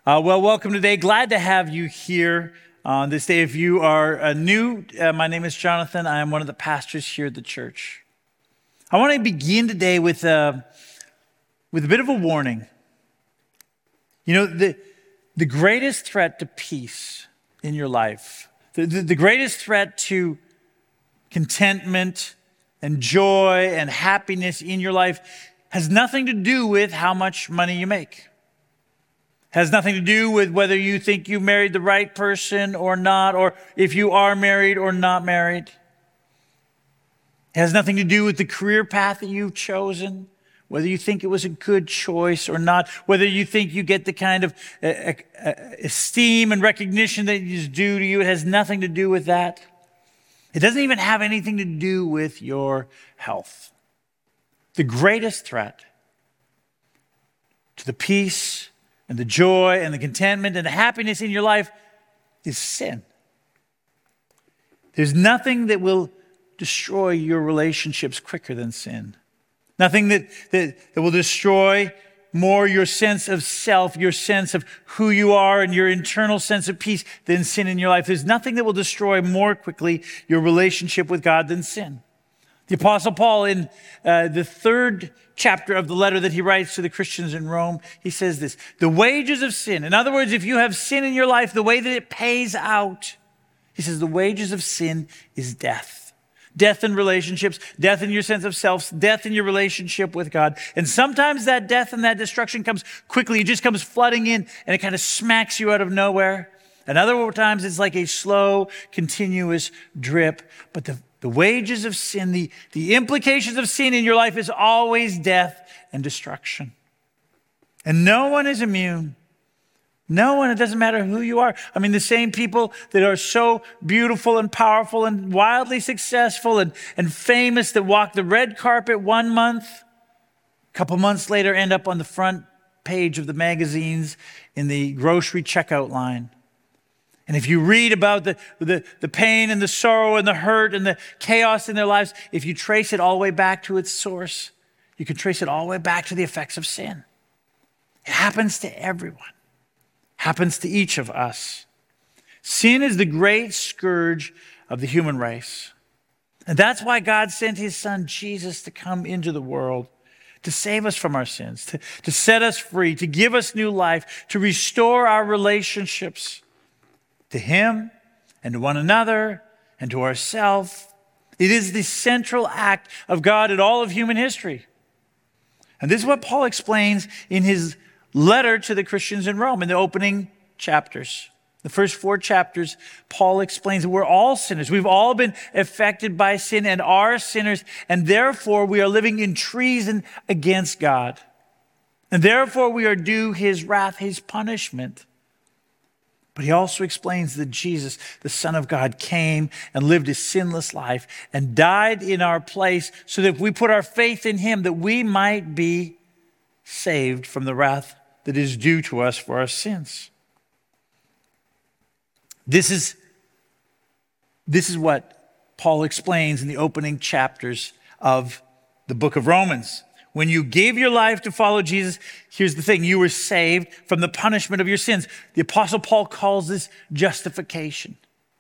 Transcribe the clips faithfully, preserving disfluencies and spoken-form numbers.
Uh, well, welcome today. Glad to have you here on this day. If you are uh, new, uh, my name is Jonathan. I am one of the pastors here at the church. I want to begin today with, uh, with a bit of a warning. You know, the, the greatest threat to peace in your life, the, the, the greatest threat to contentment and joy and happiness in your life has nothing to do with how much money you make. Has nothing to do with whether you think you married the right person or not, or if you are married or not married. It has nothing to do with the career path that you've chosen, whether you think it was a good choice or not, whether you think you get the kind of uh, uh, esteem and recognition that is due to you. It has nothing to do with that. It doesn't even have anything to do with your health. The greatest threat to the peace and the joy and the contentment and the happiness in your life is sin. There's nothing that will destroy your relationships quicker than sin. Nothing that, that, that will destroy more your sense of self, your sense of who you are and your internal sense of peace than sin in your life. There's nothing that will destroy more quickly your relationship with God than sin. The Apostle Paul, in uh, the third chapter of the letter that he writes to the Christians in Rome, he says this: the wages of sin. In other words, if you have sin in your life, the way that it pays out, he says the wages of sin is death. Death in relationships, death in your sense of self, death in your relationship with God. And sometimes that death and that destruction comes quickly. It just comes flooding in and it kind of smacks you out of nowhere. And other times it's like a slow, continuous drip. But the The wages of sin, the, the implications of sin in your life is always death and destruction. And no one is immune. No one, it doesn't matter who you are. I mean, the same people that are so beautiful and powerful and wildly successful and, and famous that walk the red carpet one month, a couple months later end up on the front page of the magazines in the grocery checkout line. And if you read about the, the, the pain and the sorrow and the hurt and the chaos in their lives, if you trace it all the way back to its source, you can trace it all the way back to the effects of sin. It happens to everyone. It happens to each of us. Sin is the great scourge of the human race. And that's why God sent his son Jesus to come into the world, to save us from our sins, to, to set us free, to give us new life, to restore our relationships to him and to one another and to ourselves. It is the central act of God in all of human history. And this is what Paul explains in his letter to the Christians in Rome in the opening chapters. The first four chapters, Paul explains that we're all sinners. We've all been affected by sin and are sinners, and therefore we are living in treason against God. And therefore we are due his wrath, his punishment. But he also explains that Jesus, the Son of God, came and lived a sinless life and died in our place so that if we put our faith in him, that we might be saved from the wrath that is due to us for our sins. This is, this is what Paul explains in the opening chapters of the book of Romans. When you gave your life to follow Jesus, here's the thing: you were saved from the punishment of your sins. The Apostle Paul calls this justification.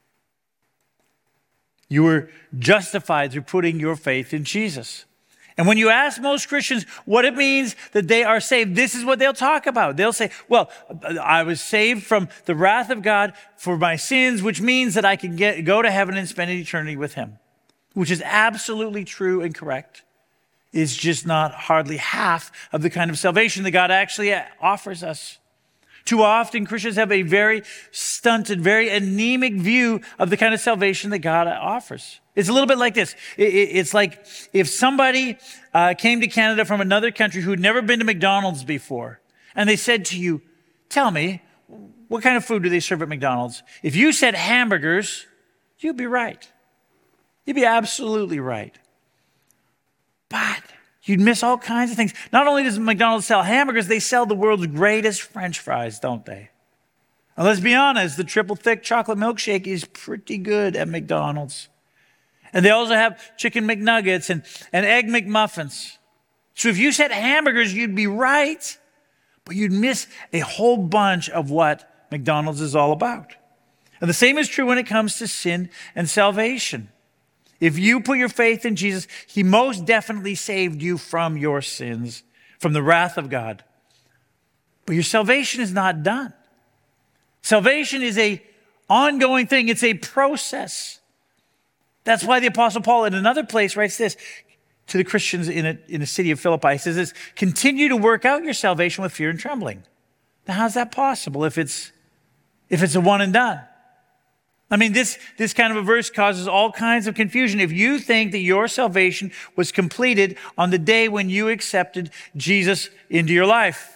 You were justified through putting your faith in Jesus. And when you ask most Christians what it means that they are saved, this is what they'll talk about. They'll say, well, I was saved from the wrath of God for my sins, which means that I can get, go to heaven and spend an eternity with him, which is absolutely true and correct. Is just not hardly half of the kind of salvation that God actually offers us. Too often, Christians have a very stunted, very anemic view of the kind of salvation that God offers. It's a little bit like this. It's like if somebody uh, came to Canada from another country who'd never been to McDonald's before, and they said to you, tell me, what kind of food do they serve at McDonald's? If you said hamburgers, you'd be right. You'd be absolutely right. But you'd miss all kinds of things. Not only does McDonald's sell hamburgers, they sell the world's greatest French fries, don't they? And let's be honest, the triple thick chocolate milkshake is pretty good at McDonald's. And they also have chicken McNuggets and, and egg McMuffins. So if you said hamburgers, you'd be right. but you'd miss a whole bunch of what McDonald's is all about. And the same is true when it comes to sin and salvation. If you put your faith in Jesus, he most definitely saved you from your sins, from the wrath of God. But your salvation is not done. Salvation is an ongoing thing. It's a process. That's why the Apostle Paul in another place writes this to the Christians in a, in the city of Philippi. He says this, continue to work out your salvation with fear and trembling. Now, how's that possible if it's, if it's a one and done? I mean, this, this kind of a verse causes all kinds of confusion. If you think that your salvation was completed on the day when you accepted Jesus into your life.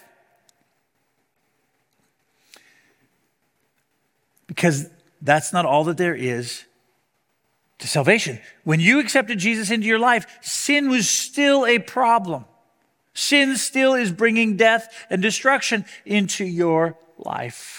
Because that's not all that there is to salvation. When you accepted Jesus into your life, sin was still a problem. Sin still is bringing death and destruction into your life.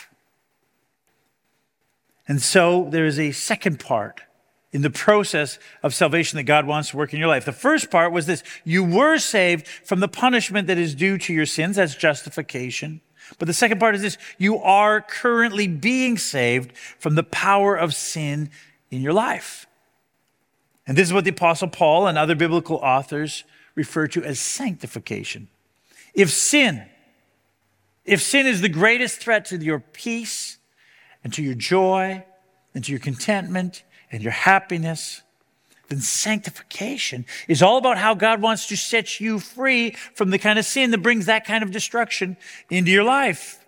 And so there is a second part in the process of salvation that God wants to work in your life. The first part was this: you were saved from the punishment that is due to your sins. That's justification. But the second part is this: you are currently being saved from the power of sin in your life. And this is what the Apostle Paul and other biblical authors refer to as sanctification. If sin, if sin is the greatest threat to your peace and to your joy and to your contentment and your happiness, then sanctification is all about how God wants to set you free from the kind of sin that brings that kind of destruction into your life.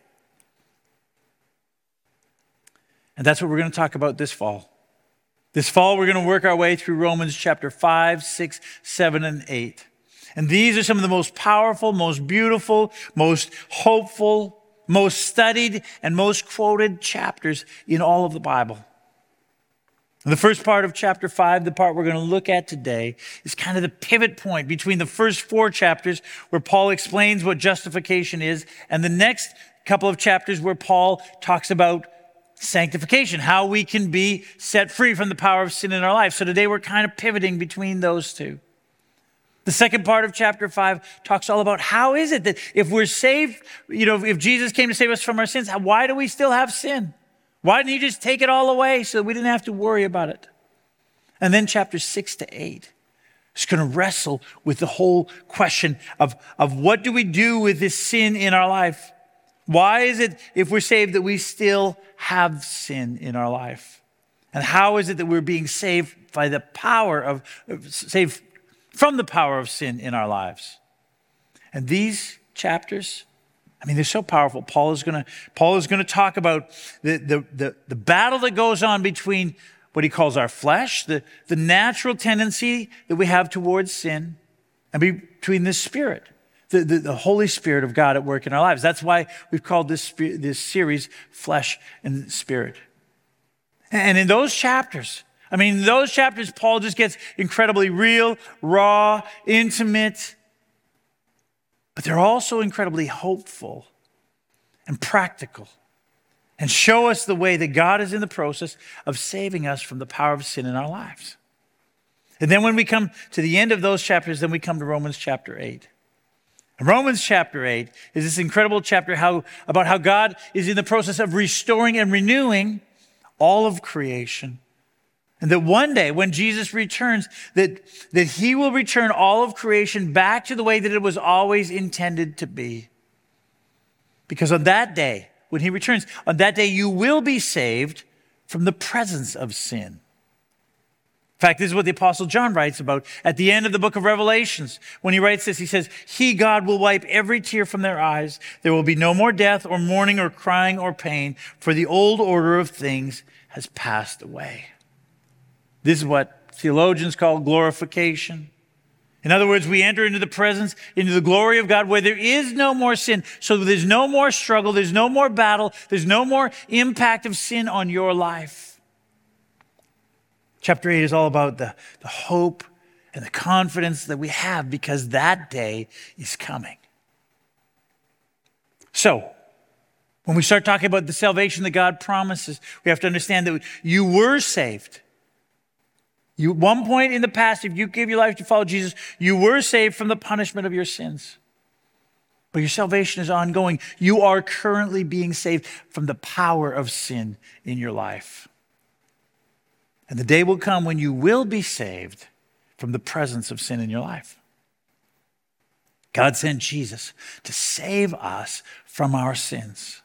And that's what we're going to talk about this fall. This fall, we're going to work our way through Romans chapter five, six, seven, and eight. And these are some of the most powerful, most beautiful, most hopeful, most studied, and most quoted chapters in all of the Bible. And the first part of chapter five, the part we're going to look at today, is kind of the pivot point between the first four chapters where Paul explains what justification is, and the next couple of chapters where Paul talks about sanctification, how we can be set free from the power of sin in our life. So today we're kind of pivoting between those two. The second part of chapter five talks all about how is it that if we're saved, you know, if Jesus came to save us from our sins, why do we still have sin? Why didn't he just take it all away so that we didn't have to worry about it? And then chapters six to eight is going to wrestle with the whole question of, of what do we do with this sin in our life? Why is it, if we're saved, that we still have sin in our life? And how is it that we're being saved by the power of, saved from the power of sin in our lives? And these chapters, I mean, they're so powerful. Paul is going to, Paul is going to talk about the, the, the, the battle that goes on between what he calls our flesh, the, the natural tendency that we have towards sin, and between the Spirit. The, the, the Holy Spirit of God at work in our lives. That's why we've called this, this series Flesh and Spirit. And in those chapters, I mean, in those chapters, Paul just gets incredibly real, raw, intimate, but they're also incredibly hopeful and practical and show us the way that God is in the process of saving us from the power of sin in our lives. And then when we come to the end of those chapters, then we come to Romans chapter eight. Romans chapter eight is this incredible chapter how, about how God is in the process of restoring and renewing all of creation. And that one day when Jesus returns, that, that he will return all of creation back to the way that it was always intended to be. Because on that day, when he returns, on that day you will be saved from the presence of sin. In fact, this is what the Apostle John writes about at the end of the book of Revelations. When he writes this, he says, he, God, will wipe every tear from their eyes. There will be no more death or mourning or crying or pain, for the old order of things has passed away. This is what theologians call glorification. In other words, we enter into the presence, into the glory of God where there is no more sin. So there's no more struggle. There's no more battle. There's no more impact of sin on your life. Chapter eight is all about the, the hope and the confidence that we have because that day is coming. So, when we start talking about the salvation that God promises, we have to understand that you were saved. You, at one point in the past, if you gave your life to follow Jesus, you were saved from the punishment of your sins. But your salvation is ongoing. You are currently being saved from the power of sin in your life. And the day will come when you will be saved from the presence of sin in your life. God sent Jesus to save us from our sins.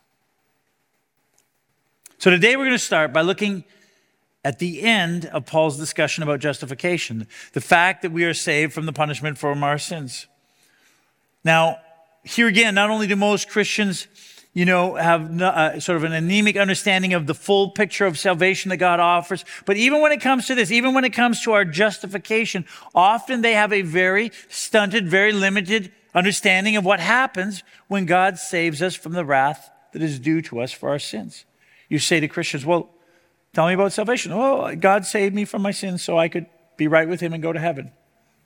So today we're going to start by looking at the end of Paul's discussion about justification, the fact that we are saved from the punishment from our sins. Now, here again, not only do most Christians, you know, have uh, sort of an anemic understanding of the full picture of salvation that God offers, but even when it comes to this, even when it comes to our justification, often they have a very stunted, very limited understanding of what happens when God saves us from the wrath that is due to us for our sins. You say to Christians, well, tell me about salvation. Well, God saved me from my sins so I could be right with him and go to heaven.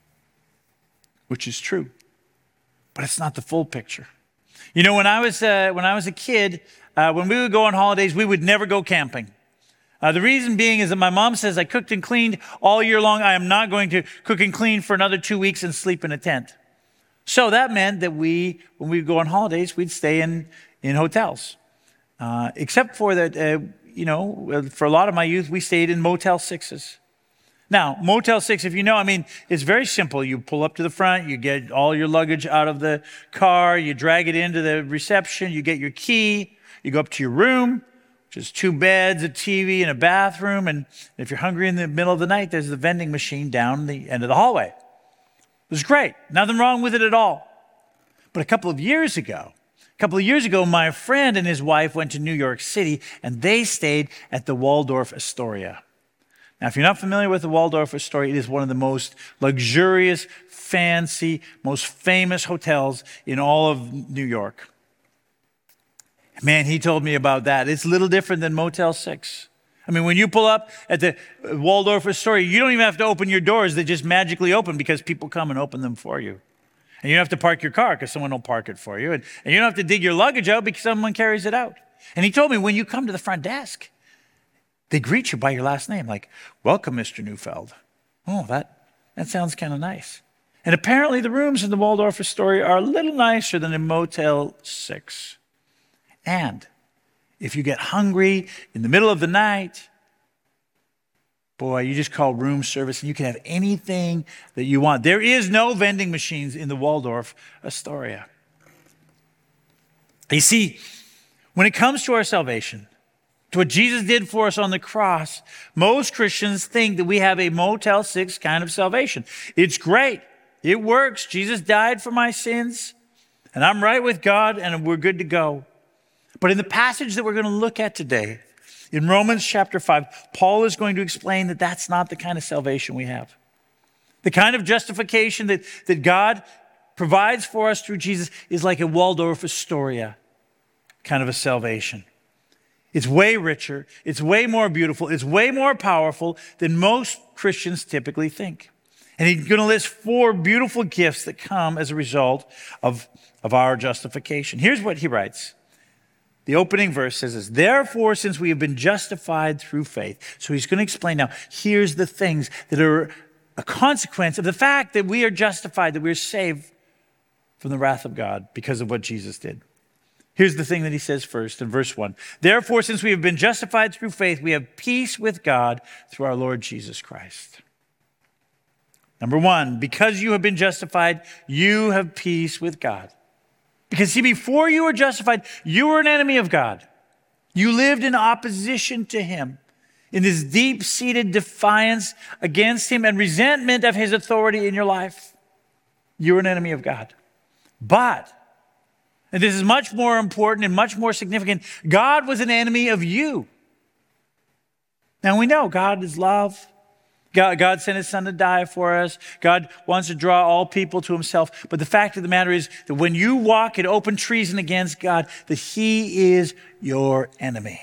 Which is true. But it's not the full picture. You know, when I was uh, when I was a kid, uh, when we would go on holidays, we would never go camping. Uh, the reason being is that my mom says I cooked and cleaned all year long. I am not going to cook and clean for another two weeks and sleep in a tent. So that meant that we, when we would go on holidays, we'd stay in, in hotels. Uh, except for that, uh, you know, for a lot of my youth, we stayed in Motel Sixes. Now, Motel Six, if you know, I mean, it's very simple. You pull up to the front, you get all your luggage out of the car, you drag it into the reception, you get your key, you go up to your room, which is two beds, a T V, and a bathroom. And if you're hungry in the middle of the night, there's the vending machine down the end of the hallway. It was great. Nothing wrong with it at all. But a couple of years ago, a couple of years ago, my friend and his wife went to New York City, and they stayed at the Waldorf Astoria. Now, if you're not familiar with the Waldorf Astoria, it is one of the most luxurious, fancy, most famous hotels in all of New York. Man, he told me about that. It's a little different than Motel Six. I mean, when you pull up at the Waldorf Astoria, you don't even have to open your doors. They just magically open because people come and open them for you. And you don't have to park your car because someone will park it for you. And, and you don't have to dig your luggage out because someone carries it out. And he told me when you come to the front desk, they greet you by your last name, like, welcome, Mister Neufeld. Oh, that, that sounds kind of nice. And apparently the rooms in the Waldorf Astoria are a little nicer than in Motel Six. And if you get hungry in the middle of the night, boy, you just call room service and you can have anything that you want. There is no vending machines in the Waldorf Astoria. You see, when it comes to our salvation, to what Jesus did for us on the cross, most Christians think that we have a Motel Six kind of salvation. It's great. It works. Jesus died for my sins, and I'm right with God, and we're good to go. But in the passage that we're going to look at today, in Romans chapter five, Paul is going to explain that that's not the kind of salvation we have. The kind of justification that, that God provides for us through Jesus is like a Waldorf Astoria kind of a salvation. It's way richer, it's way more beautiful, it's way more powerful than most Christians typically think. And he's going to list four beautiful gifts that come as a result of, of our justification. Here's what he writes. The opening verse says this, therefore, since we have been justified through faith. So he's going to explain now, here's the things that are a consequence of the fact that we are justified, that we're saved from the wrath of God because of what Jesus did. Here's the thing that he says first in verse one. Therefore, since we have been justified through faith, we have peace with God through our Lord Jesus Christ. Number one, because you have been justified, you have peace with God. Because see, before you were justified, you were an enemy of God. You lived in opposition to him, in this deep-seated defiance against him and resentment of his authority in your life. You were an enemy of God. But, and this is much more important and much more significant, God was an enemy of you. Now we know God is love. God, God sent his son to die for us. God wants to draw all people to himself. But the fact of the matter is that when you walk in open treason against God, that he is your enemy.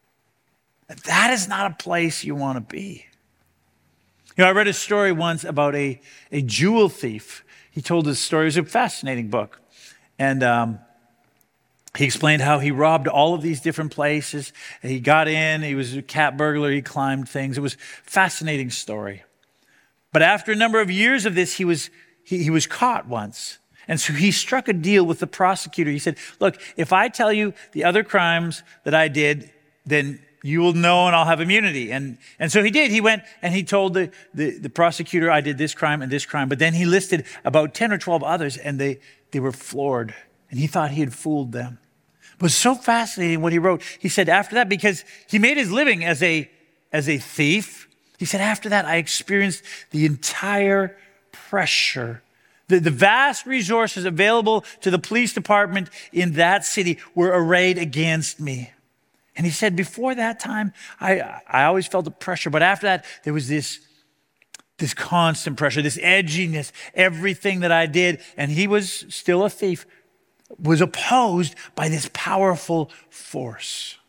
That is not a place you want to be. You know, I read a story once about a, a jewel thief. He told this story. It was a fascinating book. And um, he explained how he robbed all of these different places. He got in, he was a cat burglar, he climbed things. It was a fascinating story. But after a number of years of this, he was he, he was caught once. And so he struck a deal with the prosecutor. He said, look, if I tell you the other crimes that I did, then you will know and I'll have immunity. And, and so he did. He went and he told the, the, the prosecutor, I did this crime and this crime. But then he listed about ten or twelve others, and they, they were floored. And he thought he had fooled them. It was so fascinating what he wrote. He said after that, because he made his living as a, as a thief, he said, after that, I experienced the entire pressure. The, the vast resources available to the police department in that city were arrayed against me. And he said, before that time, I, I always felt the pressure. But after that, there was this, this constant pressure, this edginess, everything that I did. And he was still a thief, was opposed by this powerful force.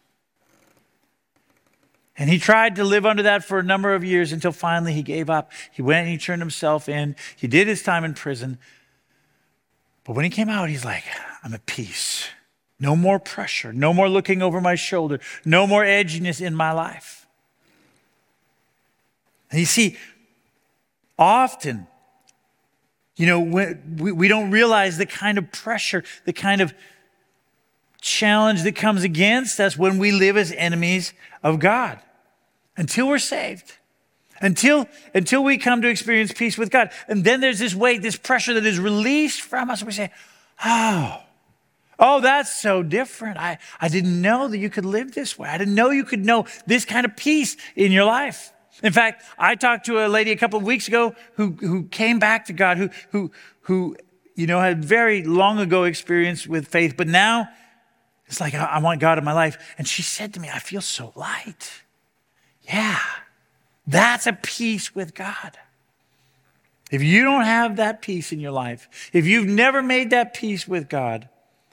And he tried to live under that for a number of years until finally he gave up. He went and he turned himself in. He did his time in prison. But when he came out, he's like, I'm at peace. No more pressure. No more looking over my shoulder. No more edginess in my life. And you see, often, you know, we, we don't realize the kind of pressure, the kind of challenge that comes against us when we live as enemies of God. Until we're saved. Until, until we come to experience peace with God. And then there's this weight, this pressure that is released from us. And we say, oh, oh, that's so different. I, I didn't know that you could live this way. I didn't know you could know this kind of peace in your life. In fact, I talked to a lady a couple of weeks ago who, who came back to God, who, who, who, you know, had very long ago experience with faith, but now it's like, I, I want God in my life. And she said to me, I feel so light. Yeah, that's a peace with God. If you don't have that peace in your life, if you've never made that peace with God,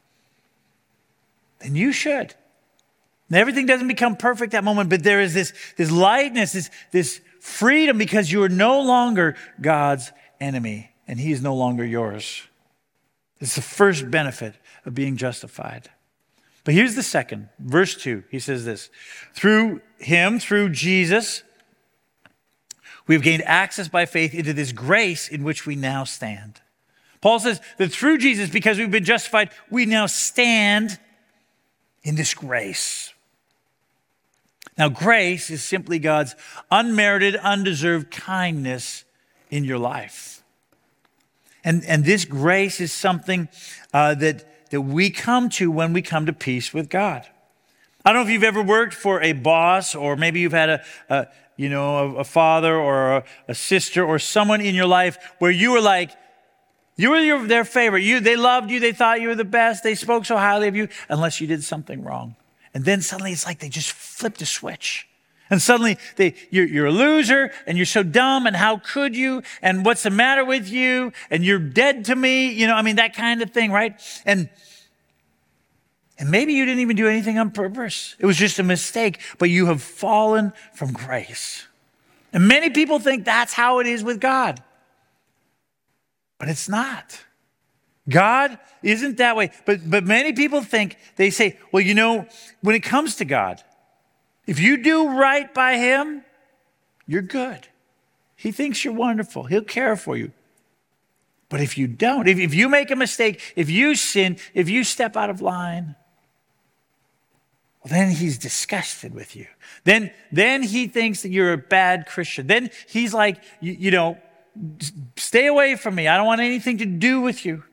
then you should. And everything doesn't become perfect that moment, but there is this, this lightness, this, this freedom, because you are no longer God's enemy and he is no longer yours. It's the first benefit of being justified. But here's the second, verse two. He says this, through him, through Jesus, we've gained access by faith into this grace in which we now stand. Paul says that through Jesus, because we've been justified, we now stand in this grace. Now, grace is simply God's unmerited, undeserved kindness in your life. And, and this grace is something uh, that that we come to when we come to peace with God. I don't know if you've ever worked for a boss, or maybe you've had a, a you know, a, a father or a, a sister or someone in your life where you were like, you were your, their favorite. You, they loved you. They thought you were the best. They spoke so highly of you unless you did something wrong. And then suddenly it's like they just flipped a switch. And suddenly they, you're, you're a loser and you're so dumb and how could you? And what's the matter with you? And you're dead to me. You know, I mean, that kind of thing, right? And, and maybe you didn't even do anything on purpose. It was just a mistake, but you have fallen from grace. And many people think that's how it is with God. But it's not. God isn't that way. But, but many people think, they say, well, you know, when it comes to God, if you do right by him, you're good. He thinks you're wonderful. He'll care for you. But if you don't, if, if you make a mistake, if you sin, if you step out of line, well, then he's disgusted with you. Then, then he thinks that you're a bad Christian. Then he's like, you, you know, stay away from me. I don't want anything to do with you.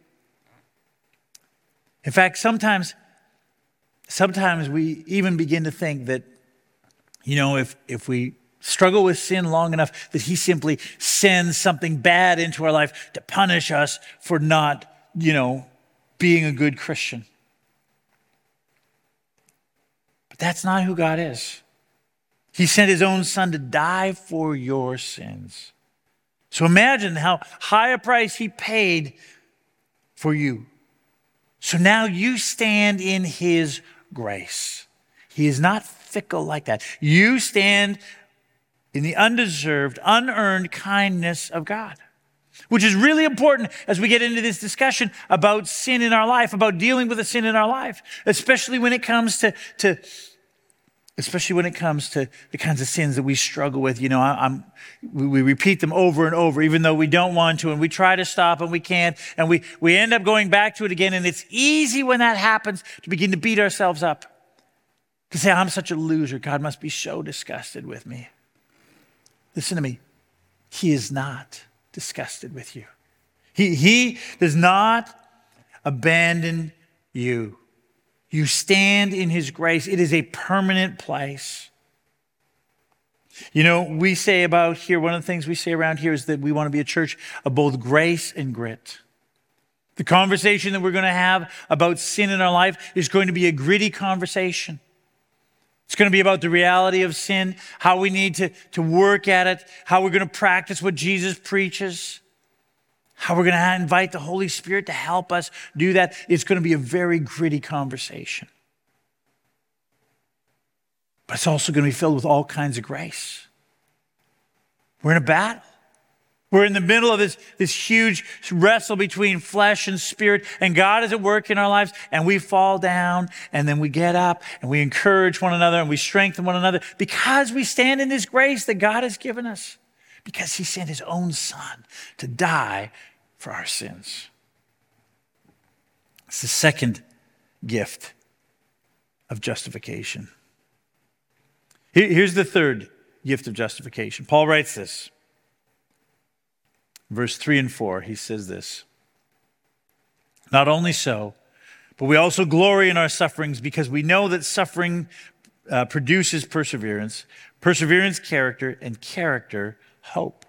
In fact, sometimes, sometimes we even begin to think that, you know, if, if we struggle with sin long enough, that he simply sends something bad into our life to punish us for not, you know, being a good Christian. But that's not who God is. He sent his own son to die for your sins. So imagine how high a price he paid for you. So now you stand in his grace. He is not fickle like that. You stand in the undeserved, unearned kindness of God, which is really important as we get into this discussion about sin in our life, about dealing with the sin in our life, especially when it comes to, to especially when it comes to the kinds of sins that we struggle with. You know, I, I'm, we, we repeat them over and over, even though we don't want to, and we try to stop and we can't, and we, we end up going back to it again. And it's easy when that happens to begin to beat ourselves up, to say, I'm such a loser. God must be so disgusted with me. Listen to me. He is not disgusted with you. He, he does not abandon you. You stand in his grace. It is a permanent place. You know, we say about here, one of the things we say around here is that we want to be a church of both grace and grit. The conversation that we're going to have about sin in our life is going to be a gritty conversation. It's going to be about the reality of sin, how we need to, to work at it, how we're going to practice what Jesus preaches, how we're going to invite the Holy Spirit to help us do that. It's going to be a very gritty conversation. But it's also going to be filled with all kinds of grace. We're in a battle. We're in the middle of this, this huge wrestle between flesh and spirit, and God is at work in our lives, and we fall down, and then we get up, and we encourage one another, and we strengthen one another because we stand in this grace that God has given us, because he sent his own son to die for our sins. It's the second gift of justification. Here's the third gift of justification. Paul writes this. Verse three and four, he says this. Not only so, but we also glory in our sufferings because we know that suffering uh, produces perseverance, perseverance, character, and character, hope.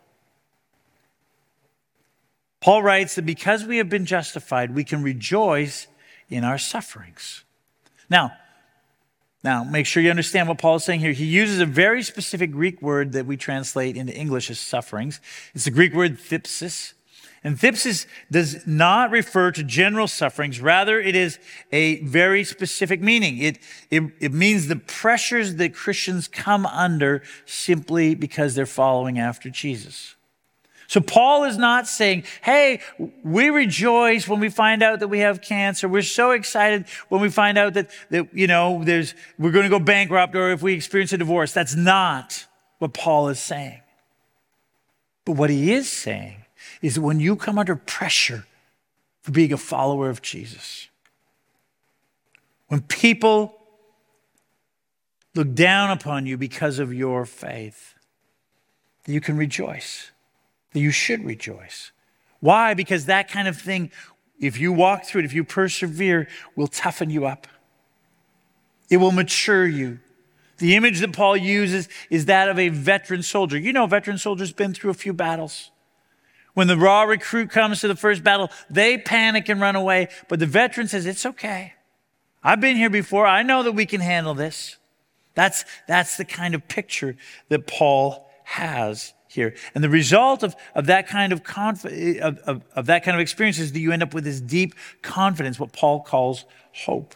Paul writes that because we have been justified, we can rejoice in our sufferings. Now, now, make sure you understand what Paul is saying here. He uses a very specific Greek word that we translate into English as sufferings. It's the Greek word thypsis. And thypsis does not refer to general sufferings. Rather, it is a very specific meaning. It, it, it means the pressures that Christians come under simply because they're following after Jesus. So Paul is not saying, hey, we rejoice when we find out that we have cancer. We're so excited when we find out that, that you know, there's, we're going to go bankrupt or if we experience a divorce. That's not what Paul is saying. But what he is saying is that when you come under pressure for being a follower of Jesus, when people look down upon you because of your faith, you can rejoice. That you should rejoice. Why? Because that kind of thing, if you walk through it, if you persevere, will toughen you up. It will mature you. The image that Paul uses is that of a veteran soldier. You know, a veteran soldier's been through a few battles. When the raw recruit comes to the first battle, they panic and run away. But the veteran says, it's okay. I've been here before. I know that we can handle this. That's, that's the kind of picture that Paul has here. And the result of, of that kind of, conf- of, of, of that kind of experience is that you end up with this deep confidence, what Paul calls hope.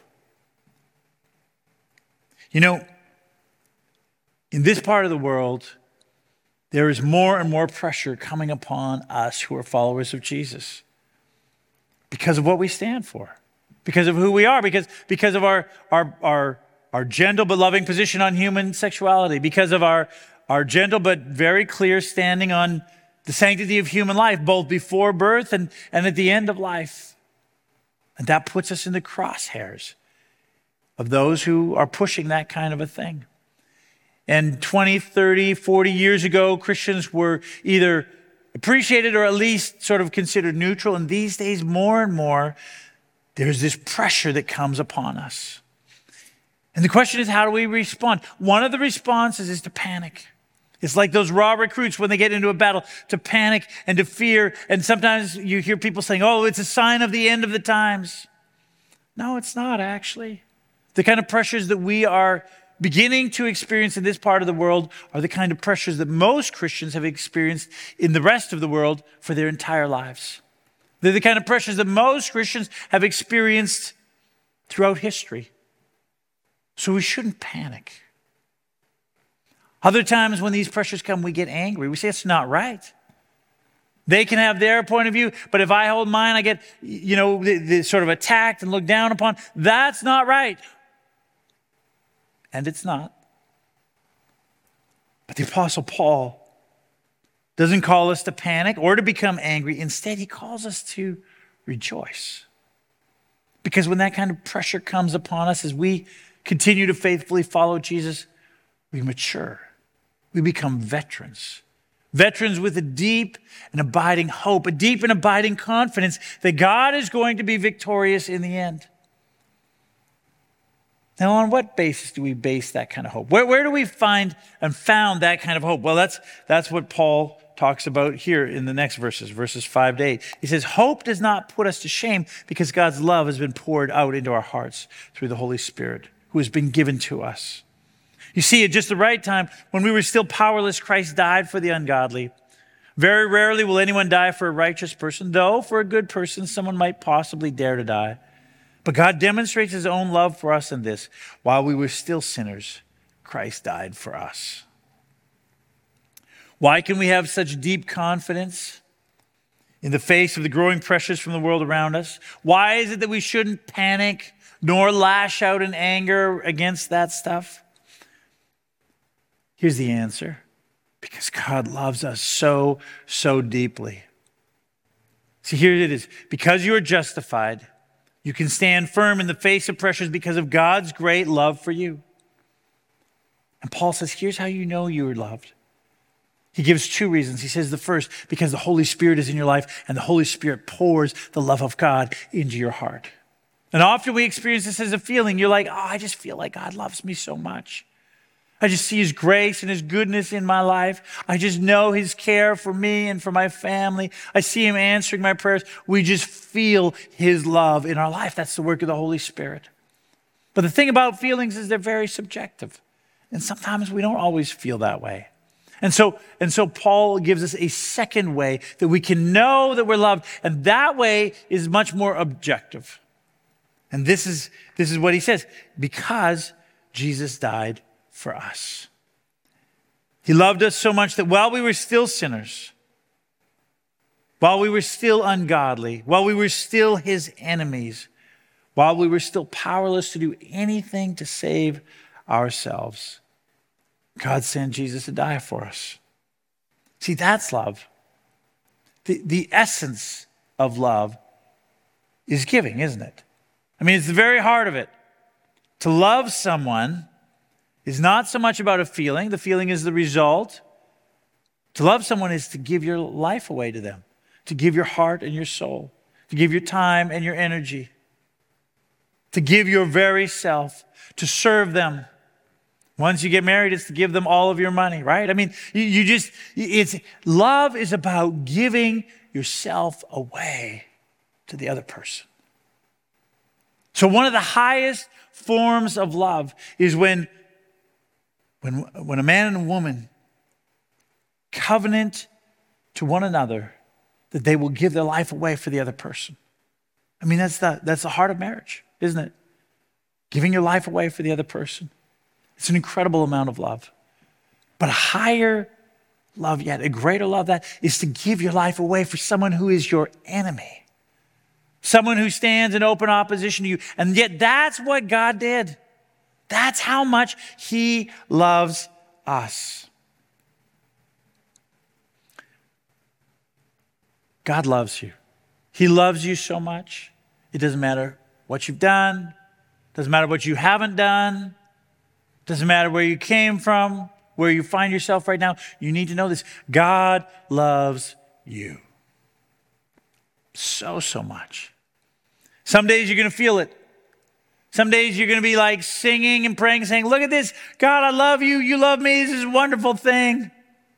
You know, in this part of the world, there is more and more pressure coming upon us who are followers of Jesus because of what we stand for, because of who we are, because, because of our, our, our, our gentle but loving position on human sexuality, because of our Our gentle but very clear standing on the sanctity of human life, both before birth and, and at the end of life. And that puts us in the crosshairs of those who are pushing that kind of a thing. And twenty, thirty, forty years ago, Christians were either appreciated or at least sort of considered neutral. And these days, more and more, there's this pressure that comes upon us. And the question is, how do we respond? One of the responses is to panic. It's like those raw recruits when they get into a battle, to panic and to fear. And sometimes you hear people saying, oh, it's a sign of the end of the times. No, it's not actually. The kind of pressures that we are beginning to experience in this part of the world are the kind of pressures that most Christians have experienced in the rest of the world for their entire lives. They're the kind of pressures that most Christians have experienced throughout history. So we shouldn't panic. Other times when these pressures come, we get angry. We say, it's not right. They can have their point of view, but if I hold mine, I get, you know, the, the sort of attacked and looked down upon. That's not right. And it's not. the Apostle Paul doesn't call us to panic or to become angry. Instead, he calls us to rejoice. Because when that kind of pressure comes upon us as we continue to faithfully follow Jesus, we mature. We become veterans. Veterans with a deep and abiding hope, a deep and abiding confidence that God is going to be victorious in the end. Now, on what basis do we base that kind of hope? Where, where do we find and found that kind of hope? Well, that's, that's what Paul talks about here in the next verses, verses five to eight. He says, hope does not put us to shame because God's love has been poured out into our hearts through the Holy Spirit who has been given to us. You see, at just the right time, when we were still powerless, Christ died for the ungodly. Very rarely will anyone die for a righteous person, though for a good person, someone might possibly dare to die. But God demonstrates his own love for us in this. While we were still sinners, Christ died for us. Why can we have such deep confidence in the face of the growing pressures from the world around us? Why is it that we shouldn't panic nor lash out in anger against that stuff? Here's the answer. Because God loves us so, so deeply. See, here it is. Because you are justified, you can stand firm in the face of pressures because of God's great love for you. And Paul says, here's how you know you are loved. He gives two reasons. He says the first, because the Holy Spirit is in your life and the Holy Spirit pours the love of God into your heart. And often we experience this as a feeling. You're like, oh, I just feel like God loves me so much. I just see his grace and his goodness in my life. I just know his care for me and for my family. I see him answering my prayers. We just feel his love in our life. That's the work of the Holy Spirit. But the thing about feelings is they're very subjective. And sometimes we don't always feel that way. And so, and so Paul gives us a second way that we can know that we're loved. And that way is much more objective. And this is, this is what he says. Because Jesus died for us. He loved us so much that while we were still sinners, while we were still ungodly, while we were still his enemies, while we were still powerless to do anything to save ourselves, God sent Jesus to die for us. See, that's love. The, the essence of love is giving, isn't it? I mean, it's the very heart of it. To love someone is not so much about a feeling. The feeling is the result. To love someone is to give your life away to them, to give your heart and your soul, to give your time and your energy, to give your very self, to serve them. Once you get married, it's to give them all of your money, right? I mean, you, you just, it's, love is about giving yourself away to the other person. So one of the highest forms of love is when, when, when a man and a woman covenant to one another that they will give their life away for the other person. I mean, that's the, that's the heart of marriage, isn't it? Giving your life away for the other person. It's an incredible amount of love. But a higher love yet, a greater love that is to give your life away for someone who is your enemy. Someone who stands in open opposition to you. And yet that's what God did. That's how much he loves us. God loves you. He loves you so much. It doesn't matter what you've done. Doesn't matter what you haven't done. Doesn't matter where you came from, where you find yourself right now. You need to know this. God loves you. So, so much. Some days you're going to feel it. Some days you're going to be like singing and praying, saying, look at this. God, I love you. You love me. This is a wonderful thing.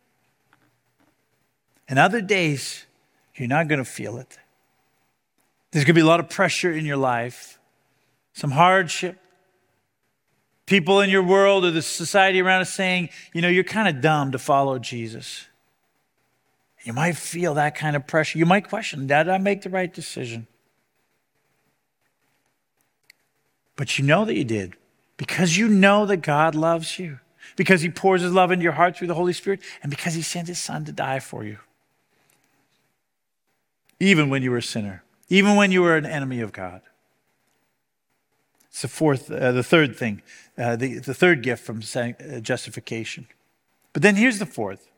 And other days, you're not going to feel it. There's going to be a lot of pressure in your life. Some hardship. People in your world or the society around us saying, you know, you're kind of dumb to follow Jesus. You might feel that kind of pressure. You might question, did I make the right decision? But you know that you did because you know that God loves you, because he pours his love into your heart through the Holy Spirit, and because he sent his son to die for you. Even when you were a sinner, even when you were an enemy of God. It's the fourth, uh, the third thing, uh, the, the third gift from uh, justification. But But then here's the fourth.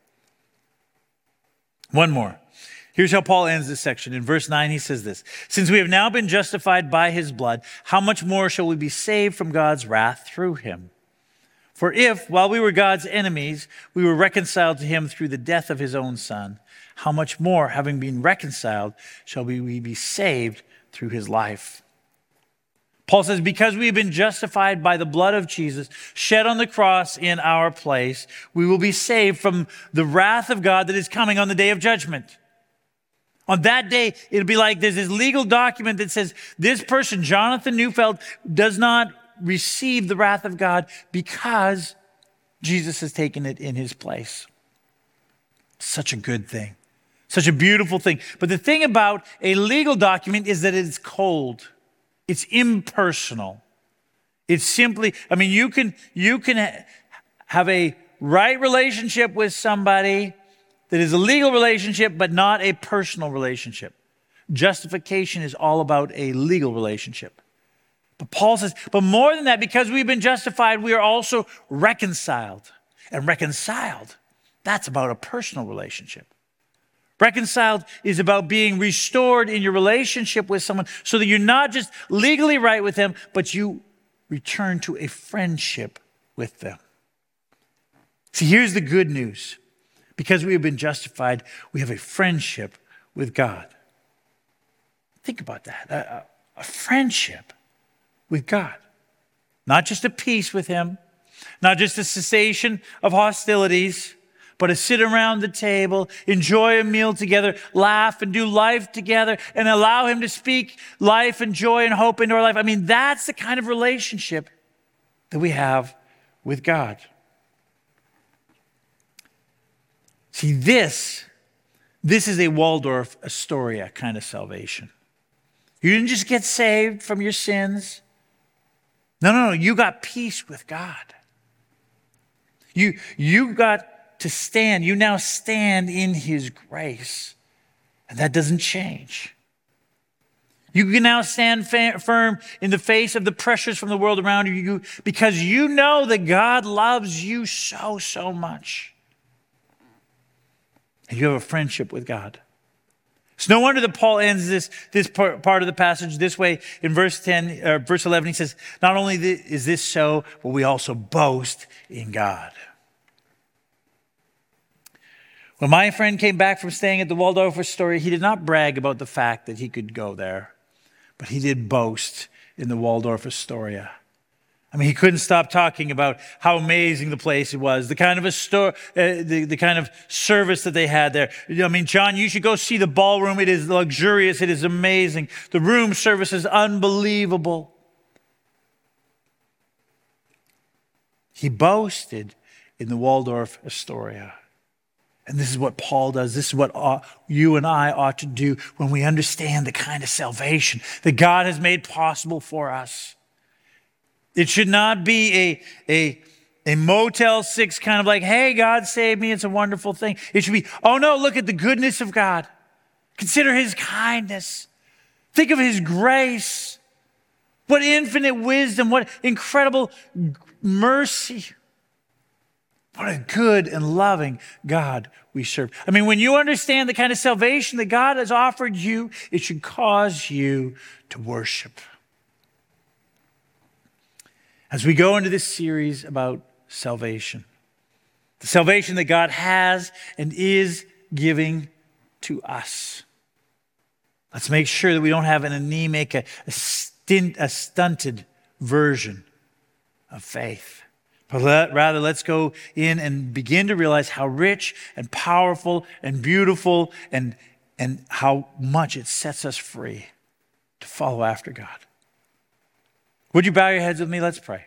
One more. Here's how Paul ends this section. In verse nine, he says this: since we have now been justified by his blood, how much more shall we be saved from God's wrath through him? For if, while we were God's enemies, we were reconciled to him through the death of his own son, how much more, having been reconciled, shall we be saved through his life? Paul says, because we have been justified by the blood of Jesus, shed on the cross in our place, we will be saved from the wrath of God that is coming on the day of judgment. On that day, it'll be like there's this legal document that says this person, Jonathan Neufeld, does not receive the wrath of God because Jesus has taken it in his place. Such a good thing. Such a beautiful thing. But the thing about a legal document is that it's cold. It's impersonal. It's simply, I mean, you can, you can ha- have a right relationship with somebody that is a legal relationship, but not a personal relationship. Justification is all about a legal relationship. But Paul says, but more than that, because we've been justified, we are also reconciled. And reconciled, that's about a personal relationship. Reconciled is about being restored in your relationship with someone so that you're not just legally right with them, but you return to a friendship with them. See, here's the good news. Because we have been justified, we have a friendship with God. Think about that. A, a friendship with God. Not just a peace with him, not just a cessation of hostilities, but to sit around the table, enjoy a meal together, laugh and do life together, and allow him to speak life and joy and hope into our life. I mean, that's the kind of relationship that we have with God. See, this, this is a Waldorf Astoria kind of salvation. You didn't just get saved from your sins. No, no, no. You got peace with God. You, you got to stand. You now stand in his grace. And that doesn't change. You can now stand fa- firm in the face of the pressures from the world around you because you know that God loves you so, so much. And you have a friendship with God. It's no wonder that Paul ends this, this part, part of the passage this way. In verse ten, uh, verse eleven, he says, not only is this so, but we also boast in God. When my friend came back from staying at the Waldorf Astoria, he did not brag about the fact that he could go there, but he did boast in the Waldorf Astoria. I mean, he couldn't stop talking about how amazing the place was, the kind of a store, uh, the, the kind of service that they had there. I mean, John, you should go see the ballroom. It is luxurious. It is amazing. The room service is unbelievable. He boasted in the Waldorf Astoria. And this is what Paul does. This is what ought, you and I ought to do when we understand the kind of salvation that God has made possible for us. It should not be a, a, a Motel six kind of like, hey, God saved me. It's a wonderful thing. It should be, oh no, look at the goodness of God. Consider his kindness. Think of his grace. What infinite wisdom. What incredible mercy. What a good and loving God we serve. I mean, when you understand the kind of salvation that God has offered you, it should cause you to worship. As we go into this series about salvation, the salvation that God has and is giving to us, let's make sure that we don't have an anemic, a, a, stint, a stunted version of faith. But let, rather, let's go in and begin to realize how rich and powerful and beautiful and, and how much it sets us free to follow after God. Would you bow your heads with me? Let's pray.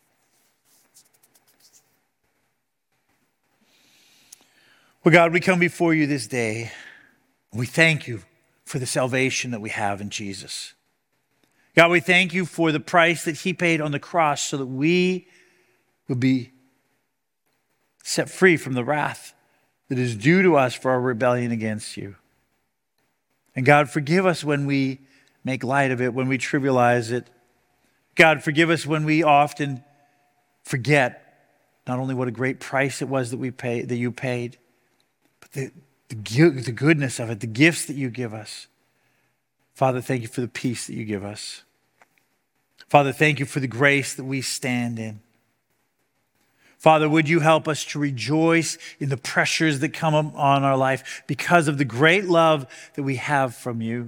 Well, God, we come before you this day. We thank you for the salvation that we have in Jesus. God, we thank you for the price that he paid on the cross so that we would be set free from the wrath that is due to us for our rebellion against you. And God, forgive us when we make light of it, when we trivialize it. God, forgive us when we often forget not only what a great price it was that we paid, that you paid, but the, the, the goodness of it, the gifts that you give us. Father, thank you for the peace that you give us. Father, thank you for the grace that we stand in. Father, would you help us to rejoice in the pressures that come on our life because of the great love that we have from you.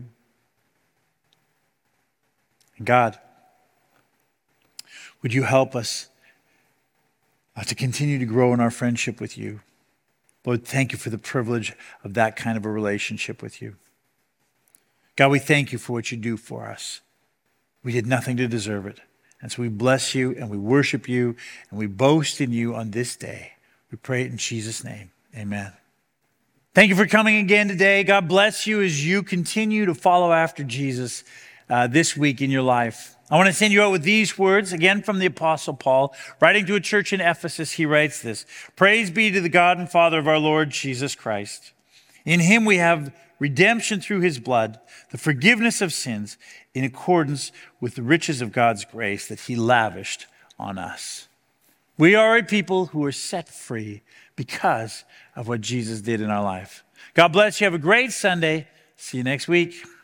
And God, would you help us uh, to continue to grow in our friendship with you? Lord, thank you for the privilege of that kind of a relationship with you. God, we thank you for what you do for us. We did nothing to deserve it. And so we bless you and we worship you and we boast in you on this day. We pray it in Jesus' name. Amen. Thank you for coming again today. God bless you as you continue to follow after Jesus uh, this week in your life. I want to send you out with these words, again from the Apostle Paul. Writing to a church in Ephesus, he writes this: "Praise be to the God and Father of our Lord Jesus Christ. In him we have redemption through his blood, the forgiveness of sins, in accordance with the riches of God's grace that he lavished on us." We are a people who are set free because of what Jesus did in our life. God bless you. Have a great Sunday. See you next week.